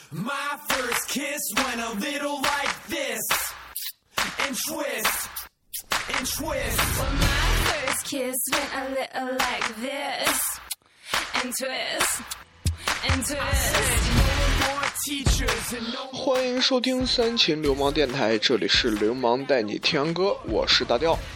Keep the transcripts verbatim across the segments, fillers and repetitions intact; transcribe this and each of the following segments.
My first kiss went a little like this, and twist, and twist. Well, my first kiss went a little like this, and twist, and twist. 欢迎收听三秦流氓电台，这里是流氓带你听歌，我是大调。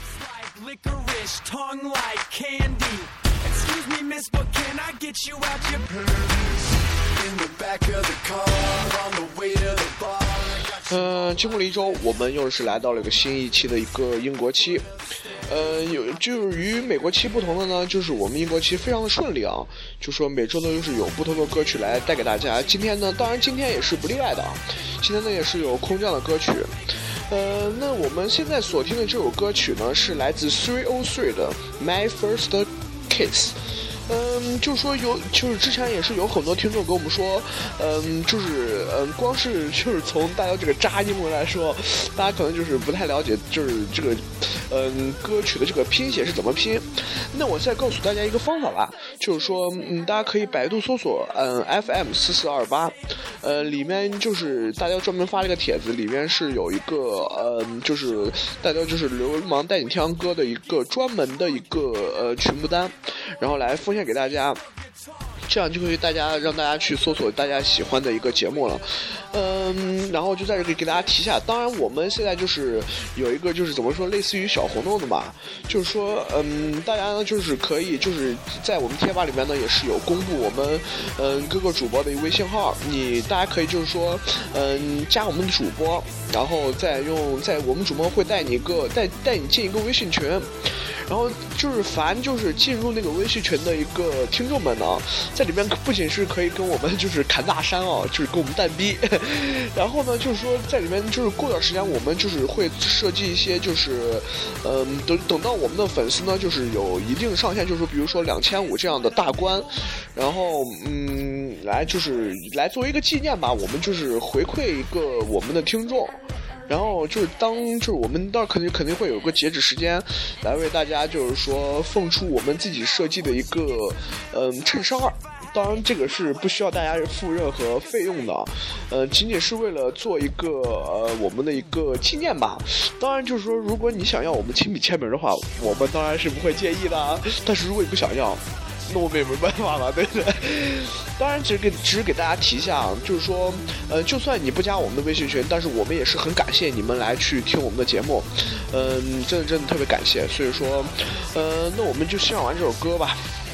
呃，经过了一周，我们又是来到了一个新一期的一个英国期。呃，有就是与美国期不同的呢，就是我们英国期非常的顺利啊，就说每周呢又是有不同的歌曲来带给大家。今天呢，当然今天也是不例外的啊，今天呢也是有空降的歌曲。呃，那我们现在所听的这首歌曲呢，是来自三哦三的 My First Kiss。嗯，就是说有，就是之前也是有很多听众跟我们说，嗯，就是嗯，光是就是从大家这个渣英文来说，大家可能就是不太了解，就是这个嗯歌曲的这个拼写是怎么拼。那我再告诉大家一个方法吧，就是说嗯，大家可以百度搜索嗯 F M 四四二八，呃，里面就是大家专门发了一个帖子，里面是有一个嗯，就是大家就是流氓带你听歌的一个专门的一个呃曲目单，然后来奉献给大家，这样就可以大家让大家去搜索大家喜欢的一个节目了。嗯，然后就在这里给大家提一下，当然我们现在就是有一个就是怎么说，类似于小活动的嘛，就是说嗯，大家呢就是可以就是在我们贴吧里面呢也是有公布我们嗯各个主播的微信号，你大家可以就是说嗯加我们的主播，然后再用在我们主播会带你一个带带你进一个微信群。然后就是凡就是进入那个微信群的一个听众们呢，在里面不仅是可以跟我们就是侃大山哦，就是跟我们蛋逼，然后呢就是说在里面就是过段时间我们就是会设计一些就是嗯等等到我们的粉丝呢就是有一定上限，就是说比如说两千五这样的大关，然后嗯来就是来作为一个纪念吧，我们就是回馈一个我们的听众。然后就是当就是我们到肯定肯定会有个截止时间，来为大家就是说奉出我们自己设计的一个嗯衬衫儿，当然这个是不需要大家付任何费用的，呃，仅仅是为了做一个呃我们的一个纪念吧。当然就是说，如果你想要我们亲笔签名的话，我们当然是不会介意的。但是如果你不想要，那我们也没办法了，对不对？当然只是给只是给大家提一下，就是说呃就算你不加我们的微信群，但是我们也是很感谢你们来去听我们的节目，嗯，真的真的特别感谢。所以说呃那我们就欣赏完这首歌吧。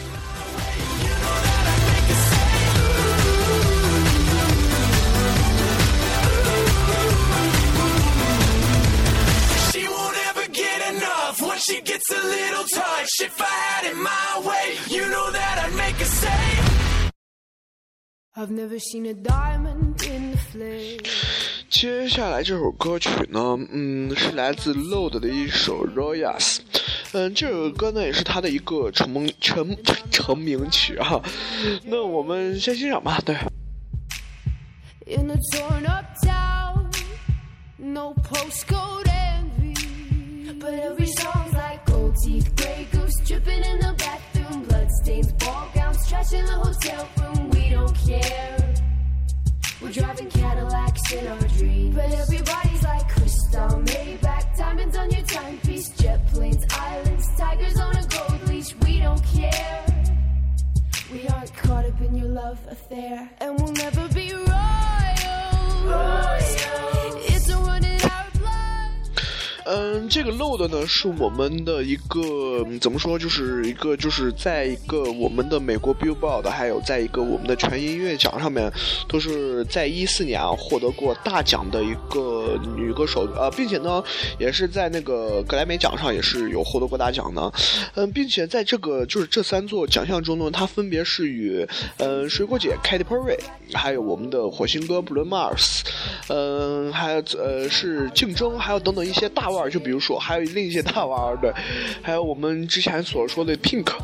She gets a little touch. If I had it my way, you know that I'd make her say I've never seen a diamond in the flame. 接下来这首歌曲呢，嗯，是来自 Load 的一首 Royals。嗯，这首歌呢也是他的一个成名成成名曲啊。那我们先欣赏吧，对。 In a torn up town, no postcode envy, but every song's like gold teeth, grey goose dripping in the bathroom, bloodstains, ball gowns, trash in the hotel room. We don't care. We're driving Cadillacs in our dreams, but everybody's like crystal, Maybach, diamonds on your timepiece, jet planes, islands, tigers on a gold leash. We don't care. We aren't caught up in your love affair, and we'll never be royal. Royal. It's a run in our blood. 嗯，这个 Load 呢是我们的一个怎么说，就是一个就是在一个我们的美国 Billboard 还有在一个我们的全音乐奖上面，都是在一四年啊获得过大奖的一个女歌手，呃，并且呢也是在那个格莱美奖上也是有获得过大奖的，嗯，并且在这个就是这三座奖项中呢，它分别是与呃水果姐 Katy Perry， 还有我们的火星哥 Bruno Mars， 嗯，还有呃是竞争，还有等等一些大腕，就比如说还有另一些大腕，对，还有我们之前所说的 Pink，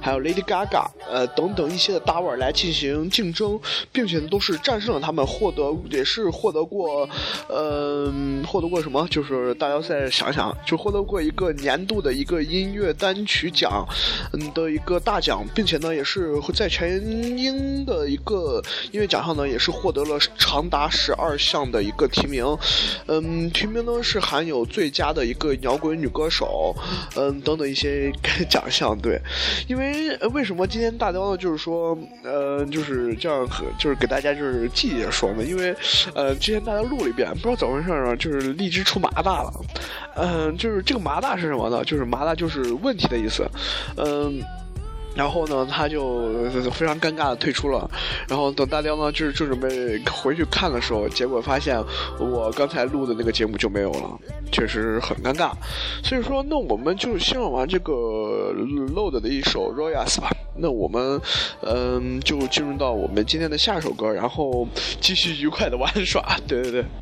还有 Lady Gaga 呃等等一些的大腕来进行竞争，并且都是战胜了他们，获得也是获得过呃获得过什么，就是大家再想想，就获得过一个年度的一个音乐单曲奖嗯的一个大奖，并且呢也是在全英的一个音乐奖项呢也是获得了长达十二项的一个提名。嗯，提名呢是含有最佳的一个摇滚女歌手，嗯等等一些奖项。对，因为、呃、为什么今天大雕呢就是说呃就是这样就是给大家就是记着说呢，因为呃之前大家录了一遍，不知道怎么回事啊，就是荔枝出麻大了。嗯、呃、就是这个麻大是什么呢，就是麻大就是问题的意思。嗯、呃然后呢他就非常尴尬的退出了，然后等大雕呢就是就准备回去看的时候，结果发现我刚才录的那个节目就没有了，确实很尴尬。所以说那我们就先玩这个 Load 的一首 Royals 吧，那我们嗯就进入到我们今天的下首歌，然后继续愉快的玩耍。对对对，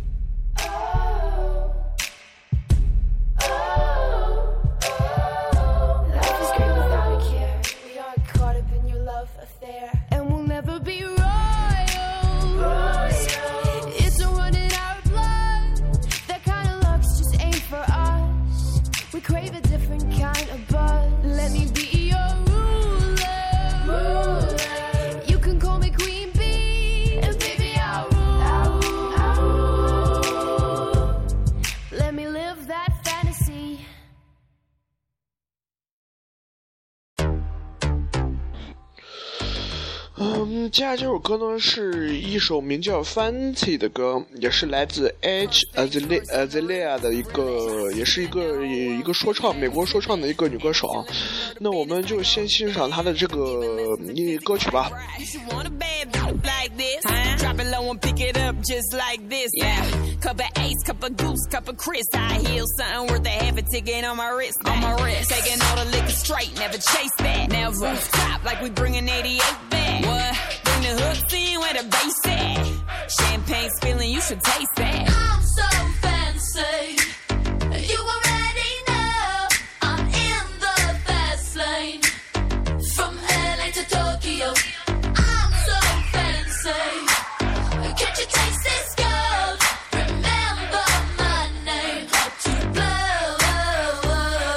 嗯，接下来这首歌呢是一首名叫 Fancy 的歌，也是来自 Edge Azalea 的一个，也是一个一个说唱，美国说唱的一个女歌手。那我们就先欣赏她的这个歌曲吧。 Like this, huh? Drop it low and pick it up just like this. Yeah, cup of Ace, cup of Goose, cup of Chris. High heels, something worth a half a ticket on my wrist. On my wrist, taking all the liquor straight, never chase that. Now rooftop like we bringing eighty-eight back. What? Bring the hooks in where the bass at. Champagne spilling, you should taste that. I'm so fancy. You already know I'm in the fast lane. From L A to Tokyo. Can't you taste this gold? Remember my name, how to blow.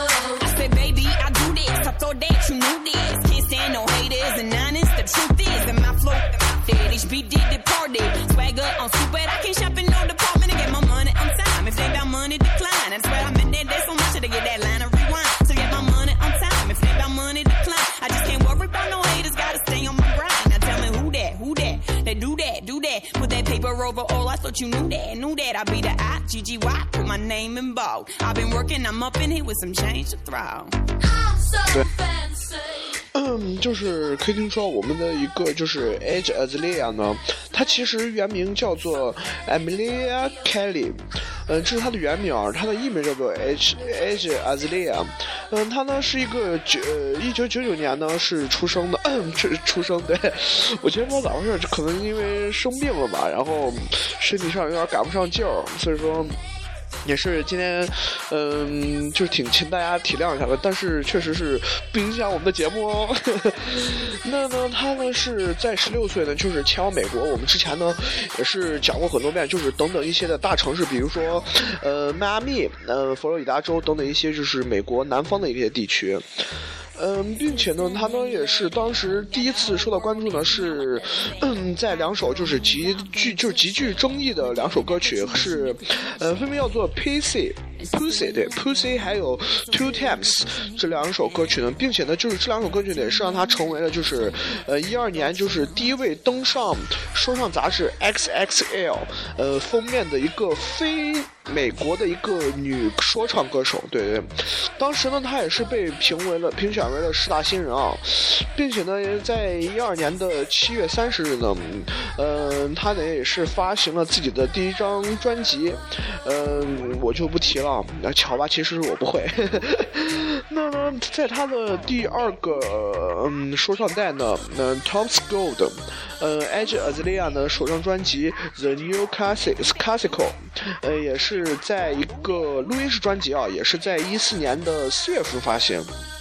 I said, baby, I do this. I thought that you knew this. Can't stand no haters and honest. The truth is that my flow, that H B D departed. Swagger on stupid. I can't shop in no department to get my money on time. If they got money, decline. I swear I'm in there, there's so much to get that line of rewind. To get my money on time. If they got money, decline. I just can't worry about no haters. Gotta stay on my grind. Now tell me who that, who that? They do that, do that. Put that paper over all. I thought you knew that, knew that. I be the I, G G Y. Put my name in bold. I've been working, I'm up in here with some change to throw. I'm so fancy. 嗯，就是可以听说我们的一个就是 Edge Azalea 呢，她其实原名叫做 Emilia Kelly， 嗯，这是她的原名，她的艺名叫做 Edge Edge Azalea。嗯，她呢是一个九一九九九年呢是出生的，嗯，出出生对，我觉得不知道咋回事，可能因为生病了吧，然后身体上有点赶不上劲儿，所以说。也是今天，嗯，就是挺请大家体谅一下的，但是确实是不影响我们的节目哦。那呢，他呢是在十六岁呢，就是前往美国。我们之前呢也是讲过很多遍，就是等等一些的大城市，比如说呃迈阿密、呃佛罗里达州等等一些就是美国南方的一些地区。嗯，并且呢，他呢也是当时第一次受到关注呢，是嗯在两首就是极具就是极具争议的两首歌曲，是呃分别叫做 Pussy。Pussy 对 Pussy 还有 Two Times 这两首歌曲呢，并且呢就是这两首歌曲呢也是让他成为了就是呃一二年就是第一位登上说唱杂志 X X L 呃封面的一个非美国的一个女说唱歌手。对对，当时呢她也是被评为了评选为了十大新人啊，并且呢在一二年的七月三十日呢，呃她呢也是发行了自己的第一张专辑，嗯、呃、我就不提了。巧吧，其实我不会。那呢，在他的第二个嗯说唱带呢，呃 Tom's Gold， 呃 Edge Azalea 呢首张专辑 The New Classics Classical， 呃也是在一个录音室专辑啊，也是在一四年的四月份发行。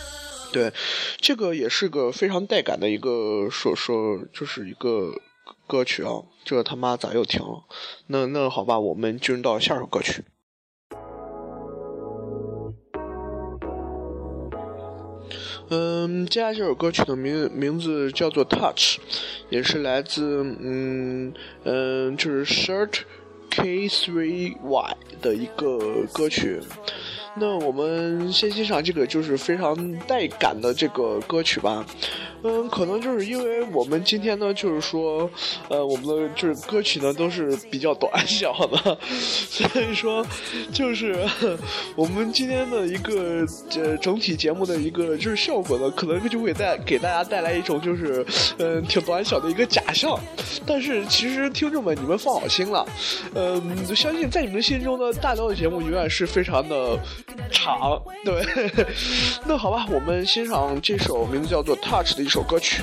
对，这个也是个非常带感的一个说说，就是一个歌曲啊。这个他妈咋又停了？那那好吧，我们进入到下首歌曲。嗯，接下来这首歌曲的名名字叫做 Touch， 也是来自嗯嗯就是 Shirt K 三 Y 的一个歌曲。那我们先欣赏这个就是非常带感的这个歌曲吧。嗯，可能就是因为我们今天呢，就是说，呃，我们的就是歌曲呢都是比较短小的，所以说，就是我们今天的一个呃整体节目的一个就是效果呢，可能就会带给大家带来一种就是嗯、呃、挺短小的一个假象。但是其实听众们，你们放好心了，嗯、呃，相信在你们的心中呢，大刀的节目永远是非常的长，对。那好吧，我们欣赏这首名字叫做 Touch 的一首歌曲。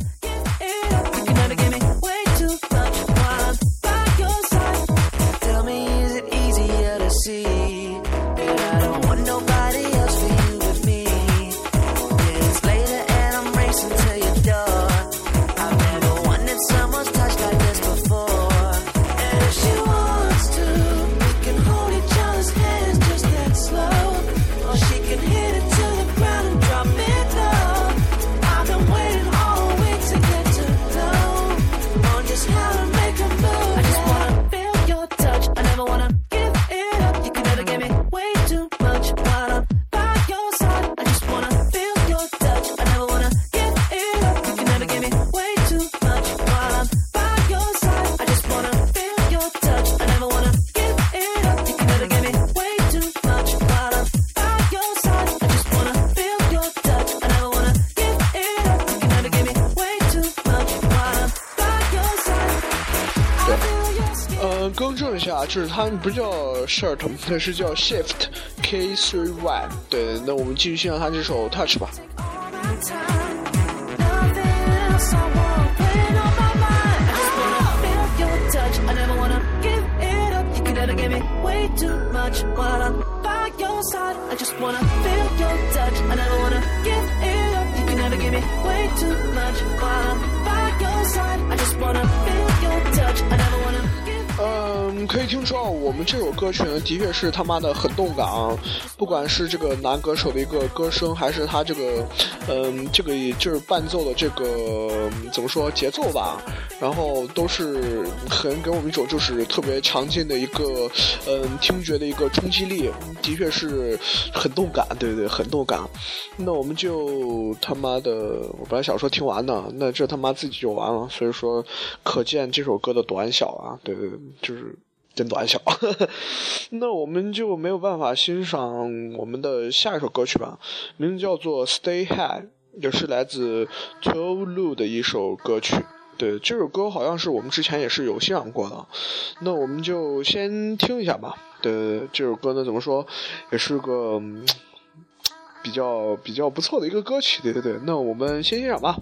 更正一下，就是它不叫 Shirt， 它是叫 Shift K 三 Y。对，那我们继续欣赏它这首 Touch 吧。嗯，可以听说我们这首歌曲呢，的确是他妈的很动感啊！不管是这个男歌手的一个歌声，还是他这个，嗯，这个就是伴奏的这个怎么说节奏吧，然后都是很给我们一种就是特别强劲的一个，嗯，听觉的一个冲击力，的确是很动感，对对对，很动感。那我们就他妈的，我本来想说听完呢，那这他妈自己就完了，所以说可见这首歌的短小啊，对对对。就是真短小那我们就没有办法欣赏我们的下一首歌曲吧，名字叫做 Stay High， 也是来自 Tolu 的一首歌曲。对，这首歌好像是我们之前也是有欣赏过的，那我们就先听一下吧。对，这首歌呢怎么说也是个、嗯、比较比较不错的一个歌曲，对对对，那我们先欣赏吧。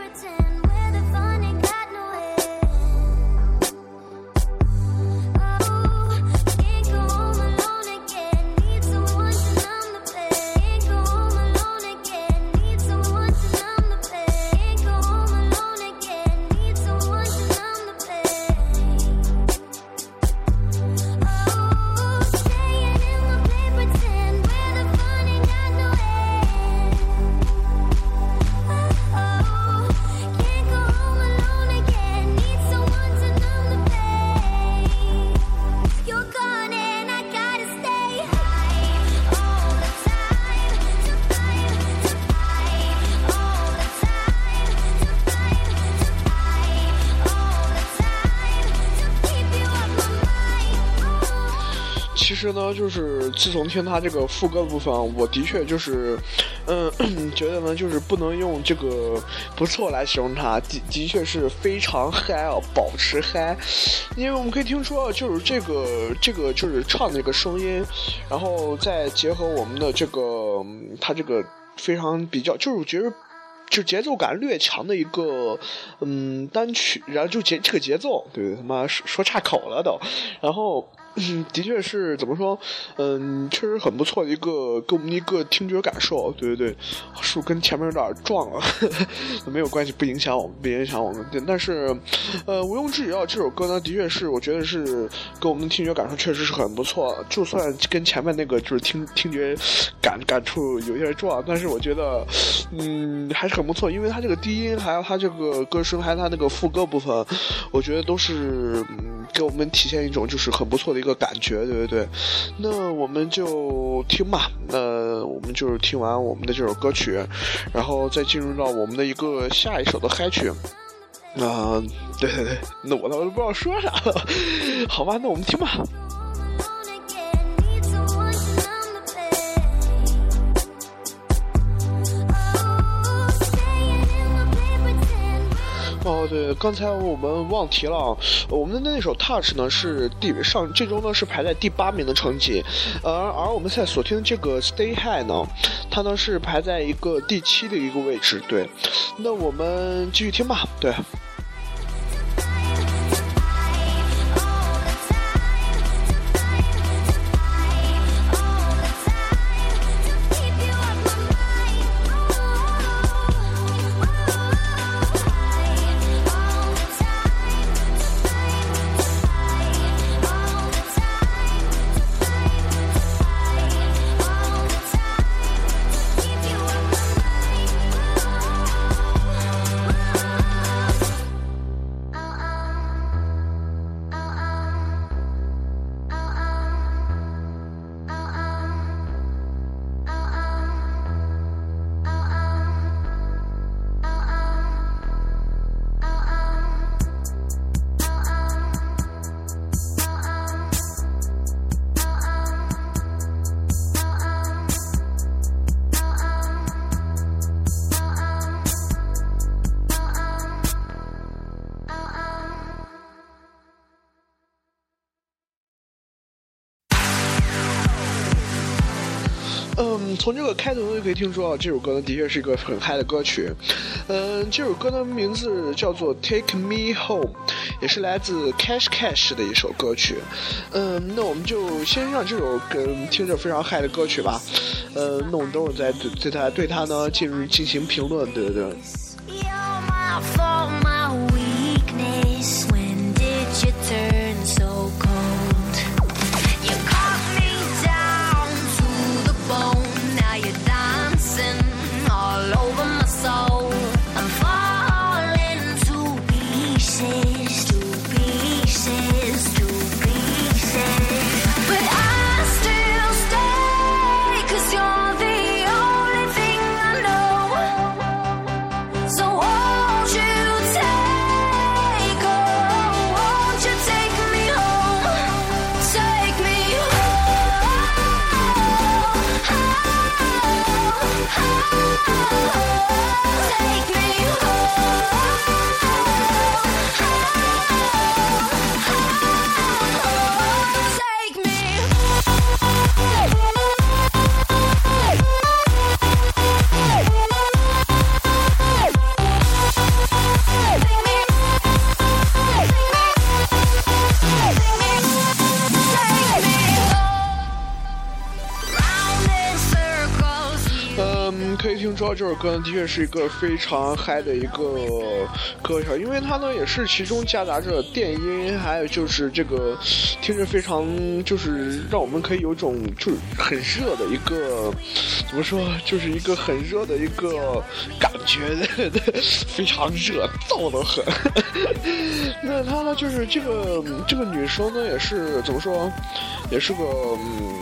Oh 其实呢，就是自从听他这个副歌部分，我的确就是，嗯，觉得呢，就是不能用这个不错来形容他，的的确是非常嗨啊，保持嗨。因为我们可以听出，就是这个这个就是唱的这个声音，然后再结合我们的这个他这个非常比较，就是我觉得。就节奏感略强的一个嗯单曲，然后就节这个节奏，对他妈说说岔口了都，然后。嗯，的确是怎么说？嗯，确实很不错的一个给我们一个听觉感受，对对对，是跟前面有点撞了，呵呵没有关系，不影响我们，不影响我们。对，但是，呃，毋庸置疑啊，这首歌呢，的确是我觉得是给我们的听觉感受确实是很不错。就算跟前面那个就是听听觉感感触有点撞，但是我觉得，嗯，还是很不错，因为它这个低音，还有它这个歌声，还有它那个副歌部分，我觉得都是嗯给我们体现一种就是很不错的一个感觉，对对对。那我们就听吧，那我们就是听完我们的这首歌曲，然后再进入到我们的一个下一首的嗨曲。啊、呃，对对对，那我都不知道说啥了，好吧，那我们听吧。哦，对，刚才我们忘提了，我们的那首 Touch 呢是第上这周呢是排在第八名的成绩，而而我们现在所听的这个 Stay High 呢，它呢是排在一个第七的一个位置。对，那我们继续听吧。对。嗯，从这个开头就可以听出啊，这首歌呢的确是一个很嗨的歌曲。嗯，这首歌的名字叫做 Take Me Home， 也是来自 Cash Cash 的一首歌曲。嗯，那我们就先让这首跟听着非常嗨的歌曲吧。呃，那我们等会儿再对对它对它呢进入进行评论，对对对。可以听出这首歌呢的确是一个非常嗨的一个歌曲，因为它呢也是其中夹杂着电音，还有就是这个听着非常就是让我们可以有一种就是很热的一个怎么说，就是一个很热的一个感觉，对对，非常热，燥得很。那它呢就是这个这个女生呢也是怎么说，也是个嗯。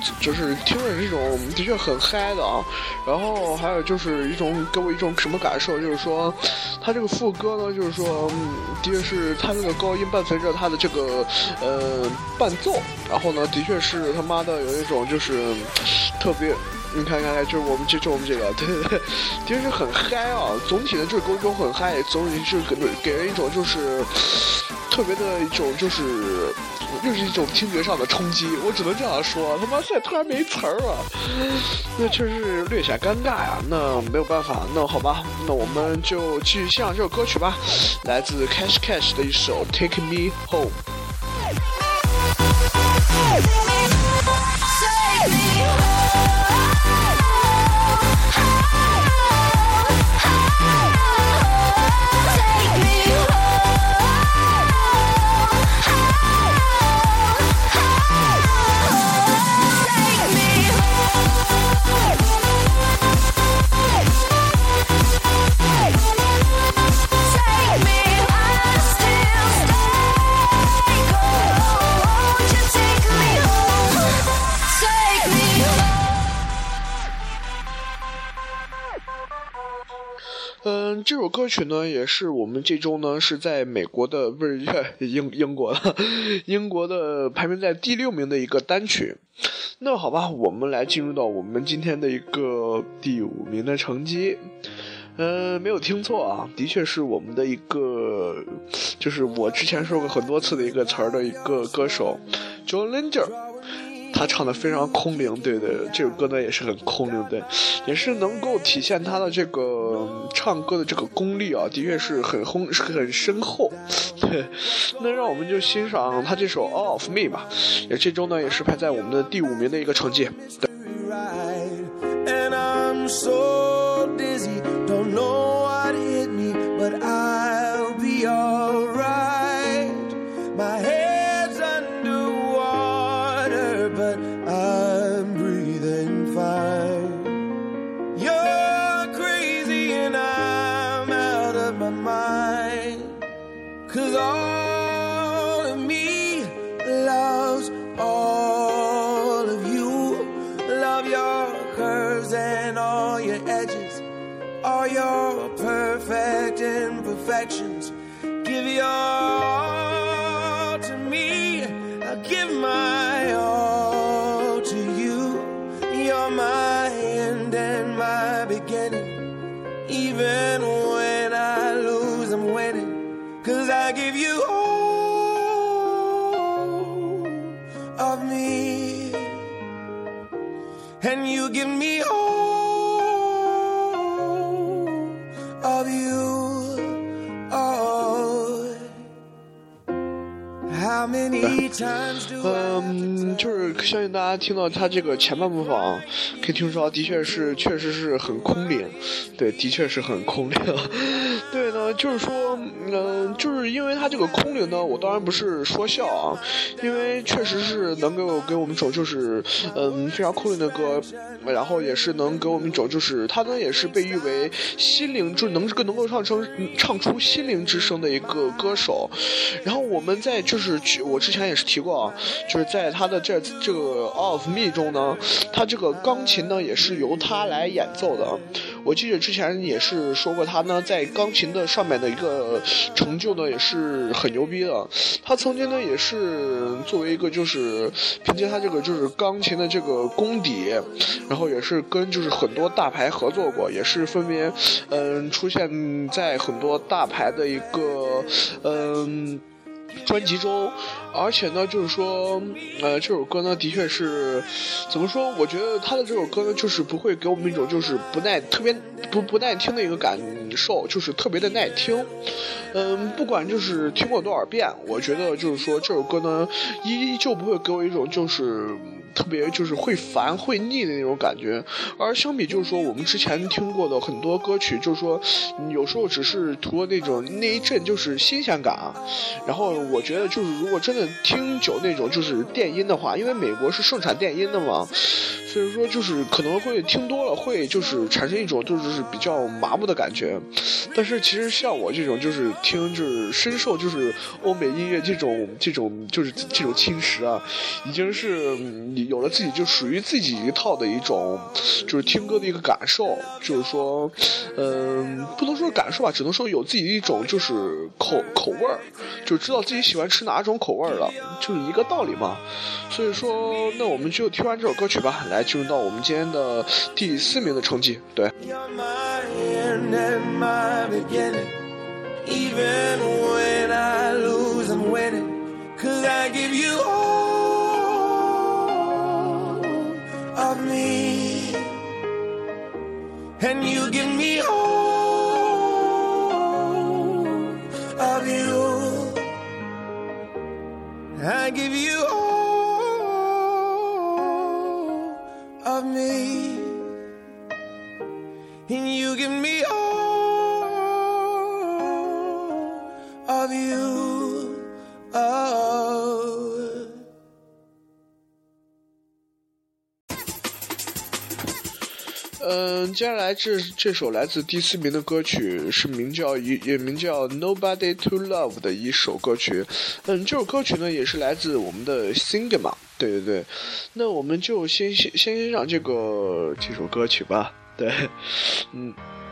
就是听着这种的确很嗨的啊。然后还有就是一种给我一种什么感受，就是说他这个副歌呢，就是说、嗯、的确是他这个高音伴随着他的这个呃伴奏，然后呢的确是他妈的有一种就是特别。你看看看，就是我们这就我们这个，对对对，的确是很嗨啊！总体的就是给我一种很嗨，总体是给给人一种就是特别的一种就是又是一种听觉上的冲击，我只能这样说。他妈现在突然没词儿了，那确实是略显尴尬呀。那没有办法，那好吧，那我们就继续欣赏这首歌曲吧，来自 Cash Cash 的一首 Take Me Home。嗯，这首歌曲呢，也是我们这周呢是在美国的不是英英国的英国的排名在第六名的一个单曲。那好吧，我们来进入到我们今天的一个第五名的成绩。嗯，没有听错啊，的确是我们的一个，就是我之前说过很多次的一个词儿的一个歌手 John Legend。他唱的非常空灵，对对，这首歌呢也是很空灵，对，也是能够体现他的这个唱歌的这个功力啊，的确是很轰很深厚，对。那让我们就欣赏他这首 All of Me 吧，也这周呢也是排在我们的第五名的一个成绩。对。 And I'm so dizzy, don't know what hit me, but I'll be alright. My head's underwater, but I'm breathing fine. You're crazy and I'm out of my mind, 'cause all of me loves all of you. Love your curves and all your edges, all your perfect imperfections. Give your all to me, I'll give my all to you. You're my end and my beginning. Even when I lose, I'm winning, 'cause I give you all of me, and you give me all of you. Oh, how many times do I 嗯，就是相信大家听到他这个前半部分啊，可以听出的确是确实是很空灵，对，的确是很空灵。对呢，就是说，嗯、呃，就是因为他这个空灵呢，我当然不是说笑啊，因为确实是能给我给我们一种就是嗯非常空灵的歌，然后也是能给我们一种就是他呢也是被誉为心灵就能能够唱成唱出心灵之声的一个歌手。然后我们在就是我之前也是提过啊，就是在他的这这个 All of Me 中呢，他这个钢琴呢也是由他来演奏的。我记得之前也是说过，他呢在钢琴的上面的一个成就呢也是很牛逼的。他曾经呢也是作为一个就是凭借他这个就是钢琴的这个功底，然后也是跟就是很多大牌合作过，也是分别嗯出现在很多大牌的一个嗯专辑中。而且呢就是说呃这首歌呢的确是怎么说，我觉得他的这首歌呢就是不会给我们一种就是不耐特别不不耐听的一个感受，就是特别的耐听。嗯，不管就是听过多少遍，我觉得就是说这首歌呢依旧不会给我一种就是特别就是会烦会腻的那种感觉。而相比就是说我们之前听过的很多歌曲，就是说有时候只是图了那种那一阵就是新鲜感。然后我觉得就是如果真的听久那种就是电音的话，因为美国是盛产电音的嘛，所以说就是可能会听多了会就是产生一种就是比较麻木的感觉。但是其实像我这种就是听就是深受就是欧美音乐这种这种就是这种侵蚀啊，已经是己有了自己就属于自己一套的一种就是听歌的一个感受，就是说嗯、呃，不能说感受吧，只能说有自己的一种就是口口味儿，就知道自己喜欢吃哪种口味了，就是一个道理嘛。所以说那我们就听完这首歌曲吧，来进入到我们今天的第四名的成绩。对， You're my end and my beginning. Even when I lose, I'm winning. Cause I give you all of me, and you give me all of you. I give you all of me, and you give me all of you. Oh. 嗯，接下来这这首来自第四名的歌曲是名叫也也名叫 Nobody to Love 的一首歌曲。嗯，这首歌曲呢也是来自我们的 Singama。对对对，那我们就先先先欣赏这个这首歌曲吧。对，嗯。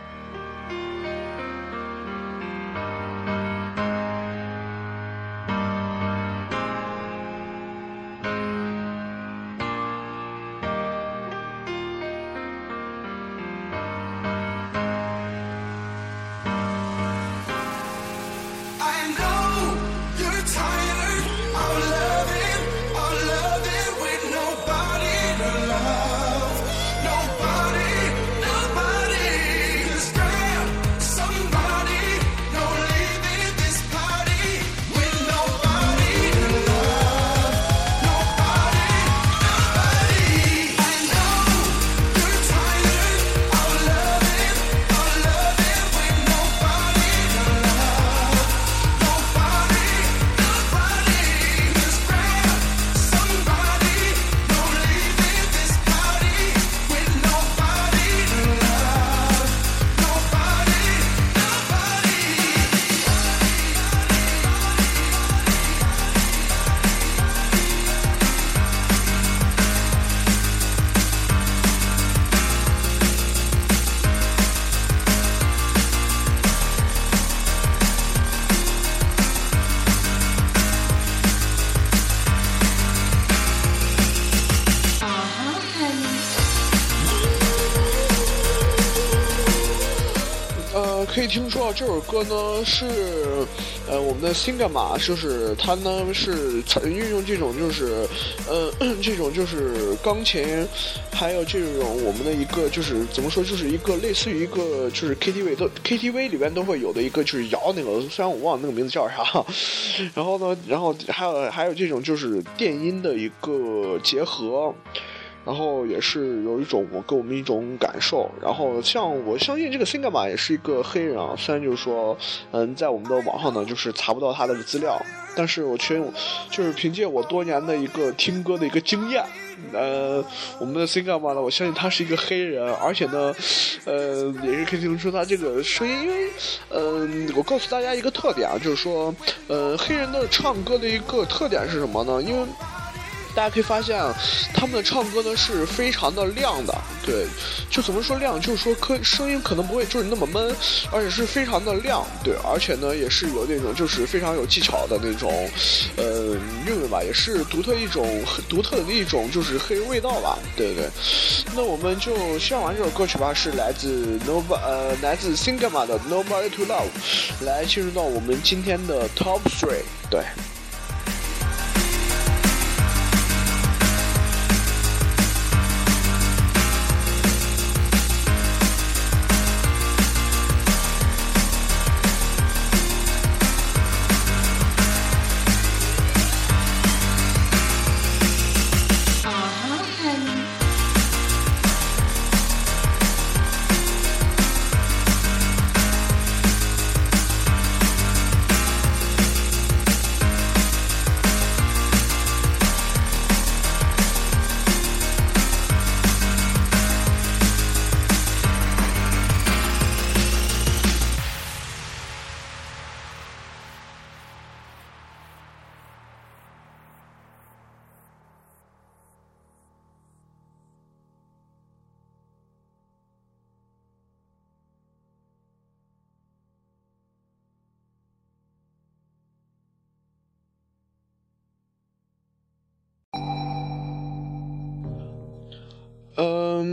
可以听说这首歌呢是，呃，我们的 Singama， 就是他呢是运用这种就是，呃，这种就是钢琴，还有这种我们的一个就是怎么说，就是一个类似于一个就是 K T V 都 K T V 里边都会有的一个就是摇那个，虽然我忘了那个名字叫啥，然后呢，然后还有还有这种就是电音的一个结合。然后也是有一种我给我们一种感受，然后像我相信这个 Singama 也是一个黑人啊，虽然就是说，嗯，在我们的网上呢就是查不到他的资料，但是我却就是凭借我多年的一个听歌的一个经验，呃，我们的 Singama 呢，我相信他是一个黑人，而且呢，呃，也是可以听出他这个声音，因为，嗯、呃，我告诉大家一个特点啊，就是说，呃，黑人的唱歌的一个特点是什么呢？因为大家可以发现他们的唱歌呢是非常的亮的，对，就怎么说亮，就是说可声音可能不会就是那么闷，而且是非常的亮，对，而且呢也是有那种就是非常有技巧的那种呃韵味吧，也是独特一种很独特的一种就是黑人味道吧，对对对。那我们就欣赏完这首歌曲吧，是来自 Nobody 呃来自 Singama 的 Nobody to Love， 来进入到我们今天的 Top three， 对。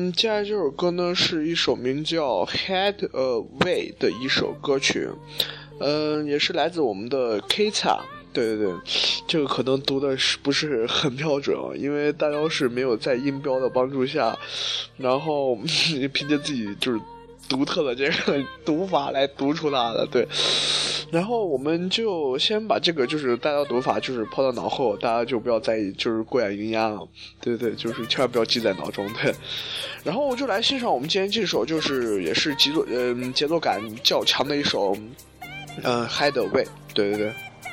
嗯，接下来这首歌呢是一首名叫《Head Away》的一首歌曲，嗯，也是来自我们的 Kita。对对对，这个可能读的是不是很标准啊？因为大雕是没有在音标的帮助下，然后凭借自己就是独特的这个读法来读出它的。对，然后我们就先把这个就是大雕读法就是抛到脑后，大家就不要在意就是过眼云烟了。对对，就是千万不要记在脑中。对，然后我就来欣赏我们今天这首就是也是节奏嗯节奏感较强的一首嗯 Head Away。对对对。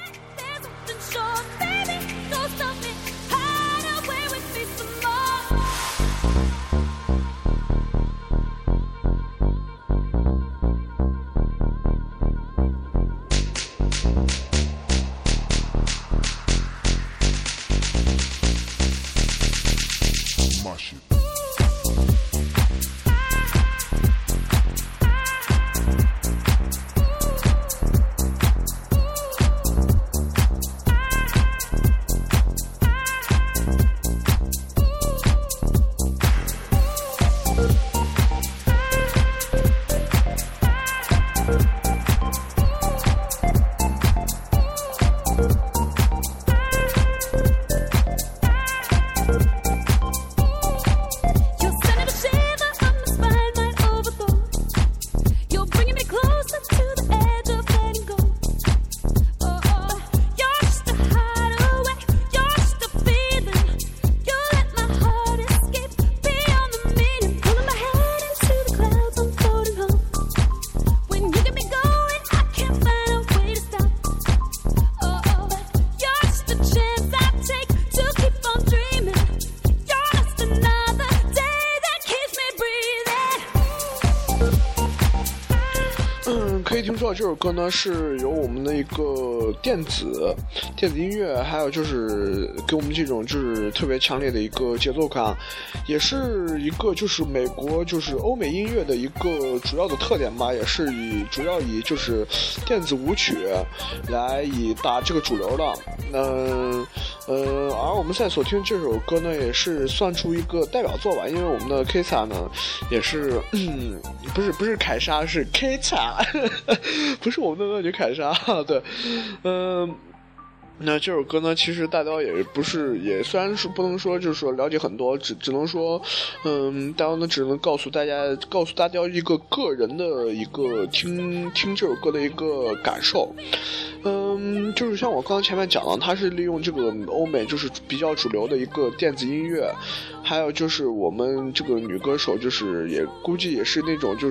可以听说这首歌呢是由我们的一个电子电子音乐，还有就是给我们这种就是特别强烈的一个节奏感，也是一个就是美国就是欧美音乐的一个主要的特点吧，也是以主要以就是电子舞曲来以打这个主流的。嗯呃，而我们现在所听这首歌呢，也是算出一个代表作吧，因为我们的 Kita 呢也是，嗯，不是不是凯莎，是 Kita， 不是我们的乐曲凯莎，对，嗯。那这首歌呢，其实大雕也不是，也虽然是不能说就是说了解很多，只只能说，嗯，大雕呢只能告诉大家，告诉大雕一个个人的一个听听这首歌的一个感受。嗯，就是像我刚刚前面讲的，它是利用这个欧美就是比较主流的一个电子音乐，还有就是我们这个女歌手就是也估计也是那种就是，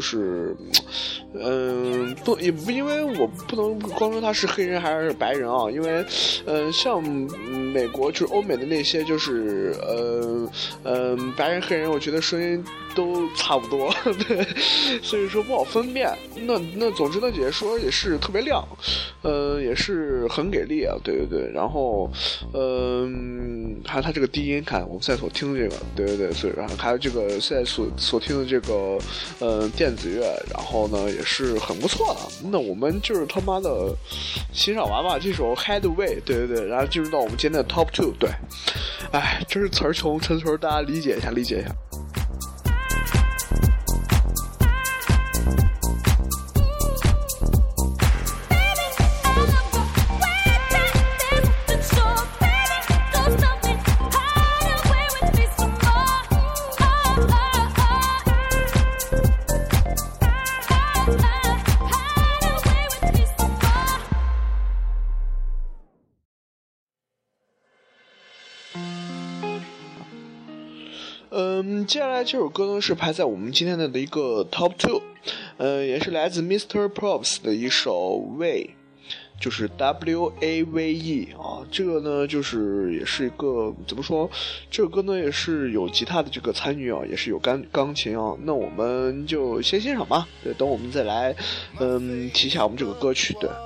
嗯，不也不因为我不能光说她是黑人还是白人啊，因为。嗯，像美国就是欧美的那些就是呃嗯、呃、白人黑人，我觉得声音都差不多，对，所以说不好分辨。那那总之呢，姐姐说也是特别亮，呃也是很给力啊，对对对。然后嗯、呃、还有他这个低音，看我们现在所听的这个，对对对，所以还有这个现在所所听的这个呃电子乐，然后呢也是很不错的。那我们就是他妈的欣赏完吧这首 Headway。对对对，然后进入到我们今天的 Top Two。对，哎，这是词儿穷，陈词儿大家理解一下，理解一下。嗯，接下来这首歌呢是排在我们今天的一个 Top Two， 呃，也是来自 Mister Probs 的一首 Way， 就是 W A V E 啊，这个呢就是也是一个怎么说，这首歌呢也是有吉他的这个参与啊，也是有钢钢琴啊，那我们就先欣赏吧，对，等我们再来嗯提一下我们这个歌曲，对。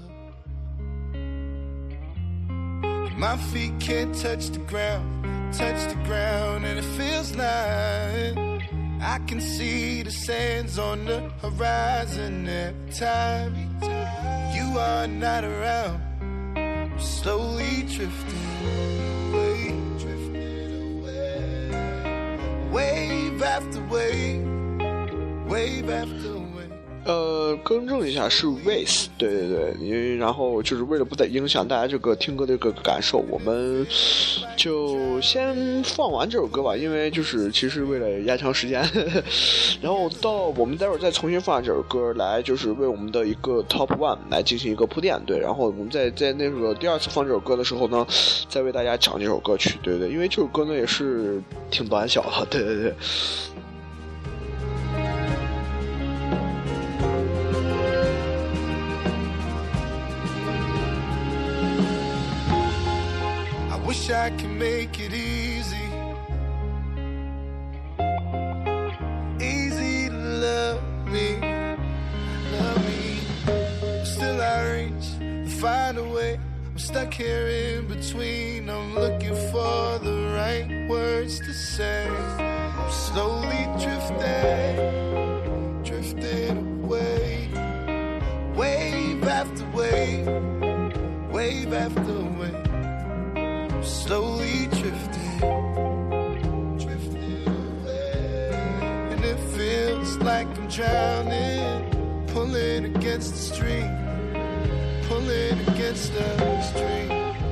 My feet can't touch the ground, touch the ground, and it feels like I can see the sands on the horizon every time you are not around. I'm slowly drifting away, drifting away. Wave wave after wave, wave after wave。 呃，更正一下是 Waze， 对对对，因为然后就是为了不再影响大家这个听歌的这个感受，我们就先放完这首歌吧，因为就是其实为了压长时间，然后到我们待会儿再重新放这首歌来，就是为我们的一个 Top One 来进行一个铺垫，对，然后我们在在那个第二次放这首歌的时候呢，再为大家讲这首歌曲，对对对，因为这首歌呢也是挺短小的，对对对。 Wish I could make it easy, easy to love me, love me. Still I reach to find a way. I'm stuck here in between. I'm looking for the right words to say. I'm slowly drifting, drifting away. Wave after wave, wave after wave.Slowly drifting, drifting away. And it feels like I'm drowning, pulling against the stream, pulling against the stream.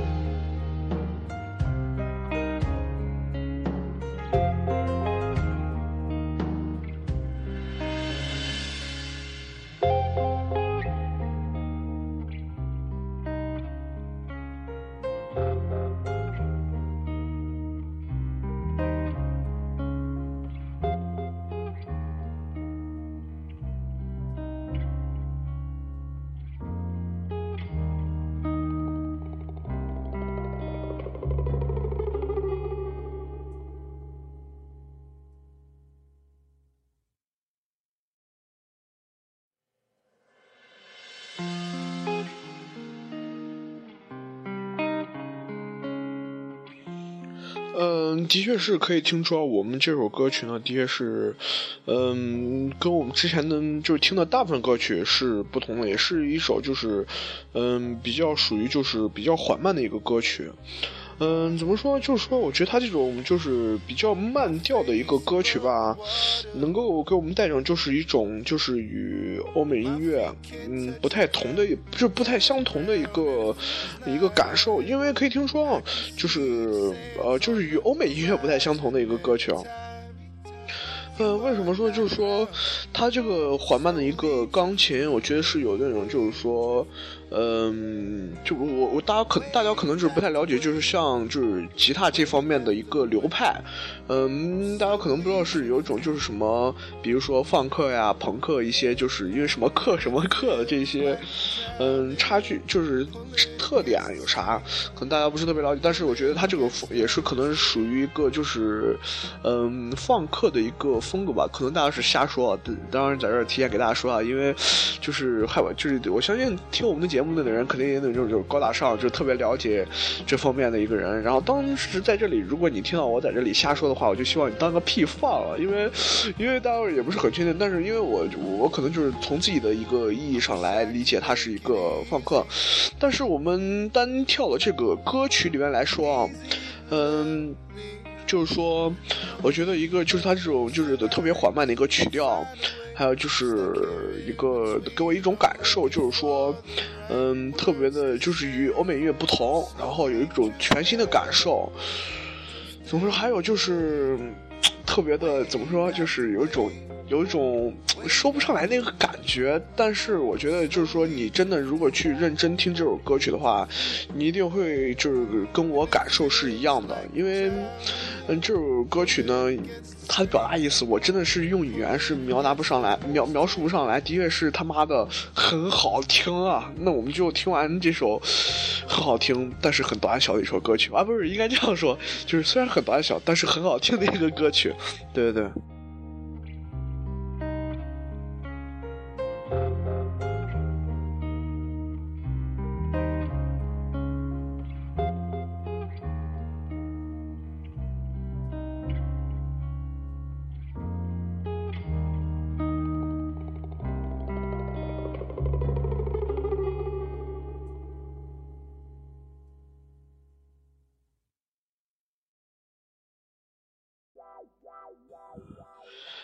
嗯，的确是可以听出我们这首歌曲呢，的确是，嗯，跟我们之前的就是听的大部分歌曲是不同的，也是一首就是，嗯，比较属于就是比较缓慢的一个歌曲。嗯，怎么说？就是说，我觉得他这种就是比较慢调的一个歌曲吧，能够给我们带上就是一种就是与欧美音乐嗯不太同的，就是不太相同的一个一个感受。因为可以听说，就是呃，就是与欧美音乐不太相同的一个歌曲啊。呃，为什么说就是说，它这个缓慢的一个钢琴，我觉得是有那种就是说，嗯，就我我大家可大家可能就是不太了解，就是像就是吉他这方面的一个流派，嗯，大家可能不知道是有一种就是什么，比如说放克呀、朋克一些，就是因为什么克什么克的这些，嗯，差距就是特点有啥，可能大家不是特别了解，但是我觉得它这个也是可能是属于一个就是嗯放克的一个风格吧，可能大家是瞎说，当然在这儿提前给大家说啊，因为就是害怕就是我相信听我们的节目的人肯定也那种就是高大上，就特别了解这方面的一个人。然后当时在这里，如果你听到我在这里瞎说的话，我就希望你当个屁放了，因为因为大家也不是很确定，但是因为我我可能就是从自己的一个意义上来理解它是一个放克，但是我们单跳的这个歌曲里面来说啊，嗯。就是说，我觉得一个就是它这种就是特别缓慢的一个曲调，还有就是一个给我一种感受，就是说，嗯，特别的，就是与欧美音乐不同，然后有一种全新的感受。怎么说？还有就是特别的，怎么说？就是有一种。有一种说不上来那个感觉，但是我觉得就是说你真的如果去认真听这首歌曲的话，你一定会就是跟我感受是一样的，因为嗯这首歌曲呢它的表达意思我真的是用语言是描达不上来，描描述不上来，的确是他妈的很好听啊。那我们就听完这首很好听但是很短小的一首歌曲啊，不是应该这样说，就是虽然很短小但是很好听的一个歌曲，对对对。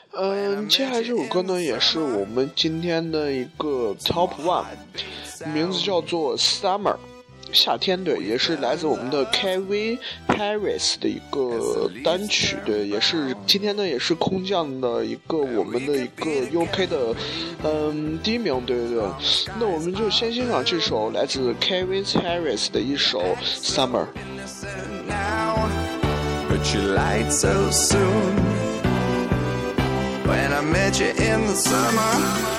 嗯，接下来这首歌呢，也是我们今天的一个 Top One， 名字叫做 Summer， 夏天，对，也是来自我们的 Calvin Harris 的一个单曲，对，也是今天呢也是空降的一个我们的一个 U K 的嗯第一名，对对对。那我们就先欣赏这首来自 Calvin Harris 的一首 Summer。 But you lied so soon when I met you in the summer.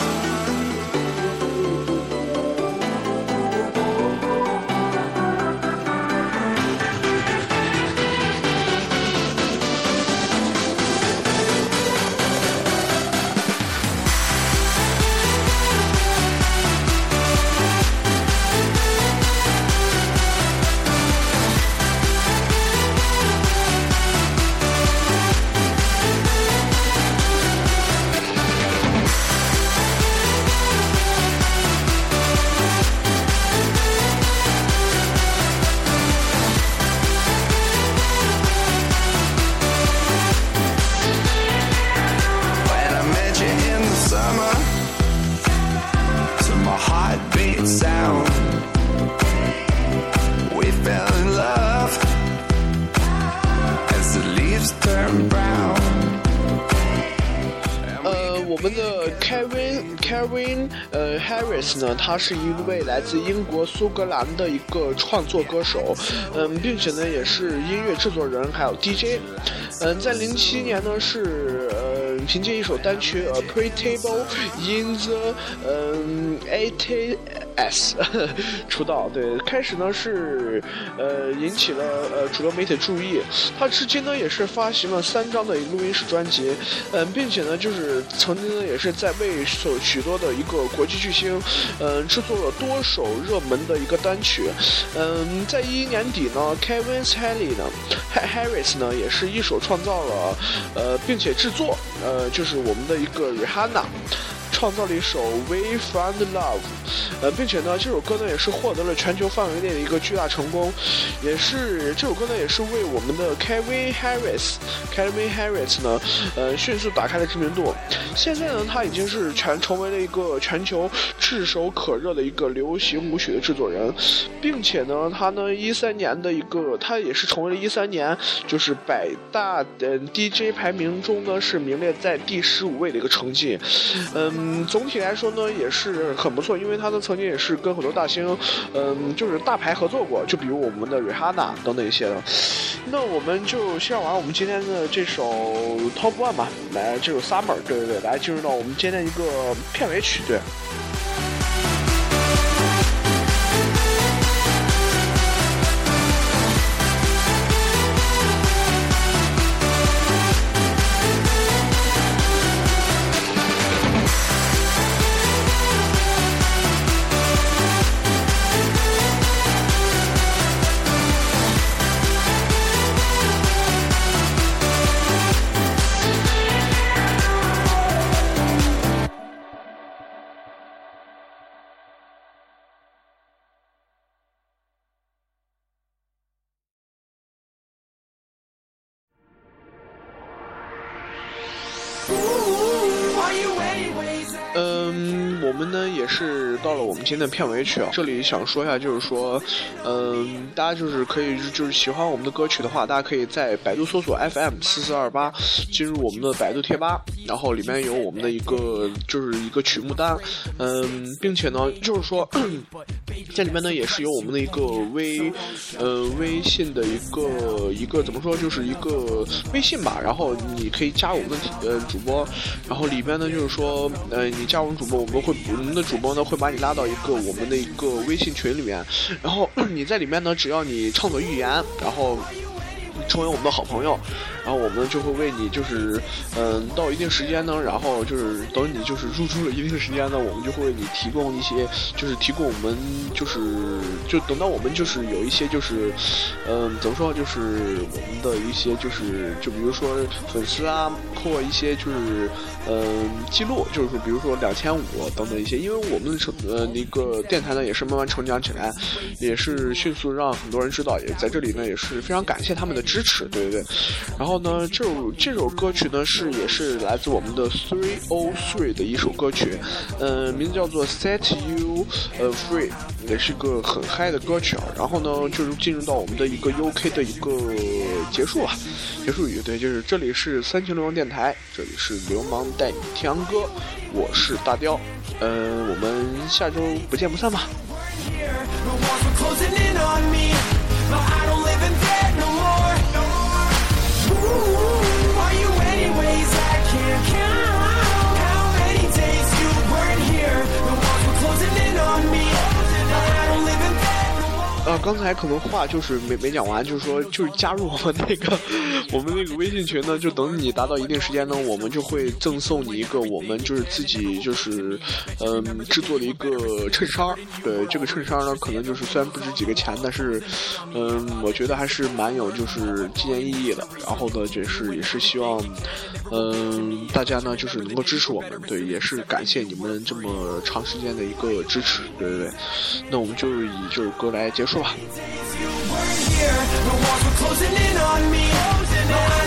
Sound. We fell in love as the leaves turn brown. 呃，我们的 Calvin Calvin 呃 Harris 呢，他是一位来自英国苏格兰的一个创作歌手，嗯，并且呢也是音乐制作人，还有 D J。嗯，在零七年呢是呃凭借一首单曲《A Pretable in the 嗯 eighties》出道，对，开始呢是呃引起了呃主流媒体注意，他至今呢也是发行了三张的录音室专辑，嗯，并且呢就是曾经呢也是在为所许多的一个国际巨星，嗯，制作了多首热门的一个单曲，嗯，在一一年底呢 ，Calvin Harris 呢 ，Harris 呢也是一手创造了呃并且制作呃就是我们的一个 Rihanna。创造了一首 We Found Love， 呃，并且呢，这首歌呢也是获得了全球范围内的一个巨大成功，也是这首歌呢也是为我们的 Calvin Harris，Calvin Harris 呢，呃，迅速打开了知名度。现在呢，他已经是全成为了一个全球炙手可热的一个流行舞曲的制作人，并且呢，他呢一三年的一个，他也是成为了一三年就是百大的 D J 排名中呢是名列在第十五位的一个成绩，嗯。嗯，总体来说呢也是很不错，因为他呢曾经也是跟很多大星，嗯，就是大牌合作过，就比如我们的 Rihanna 等等一些的。那我们就先玩我们今天的这首 Top One 吧，来这首 Summer， 对对对，来进入到我们今天一个片尾曲，对。嗯，我们呢也是到了我们今天的片尾曲啊。这里想说一下，就是说，嗯，大家就是可以就是喜欢我们的歌曲的话，大家可以在百度搜索 F M 四四二八，进入我们的百度贴吧，然后里面有我们的一个就是一个曲目单，嗯，并且呢就是说，这里面呢也是有我们的一个微呃微信的一个一个怎么说，就是一个微信吧，然后你可以加我们的呃主播，然后里边呢就是说，呃，你加我们主播，我们会我们的主播呢会把你拉到一个我们的一个微信群里面，然后你在里面呢，只要你畅所欲言，然后成为我们的好朋友，然后我们就会为你就是嗯、呃、到一定时间呢，然后就是等你就是入住了一定时间呢，我们就会为你提供一些就是提供我们就是就等到我们就是有一些就是嗯、呃、怎么说，就是我们的一些就是就比如说粉丝啊或一些就是嗯、呃、记录，就是说比如说两千五等等一些，因为我们成呃那个电台呢也是慢慢成长起来，也是迅速让很多人知道，也在这里呢也是非常感谢他们的支支持，对对对。然后呢，这首这首歌曲呢是也是来自我们的three oh three的一首歌曲，呃，名字叫做 Set You 呃 Free， 也是个很嗨的歌曲啊。然后呢，就是进入到我们的一个 U K 的一个结束啊，结束语，对，就是这里是三秦流氓电台，这里是流氓带你听洋歌，我是大雕，呃，我们下周不见不散吧。呃，刚才可能话就是没没讲完，就是说，就是加入我们那个我们那个微信群呢，就等你达到一定时间呢，我们就会赠送你一个我们就是自己就是嗯、呃、制作的一个衬衫。对，这个衬衫呢，可能就是虽然不值几个钱，但是嗯、呃，我觉得还是蛮有就是纪念意义的。然后呢，就是也是希望嗯、呃、大家呢就是能够支持我们，对，也是感谢你们这么长时间的一个支持，对对对。那我们就以这首歌来结束吧。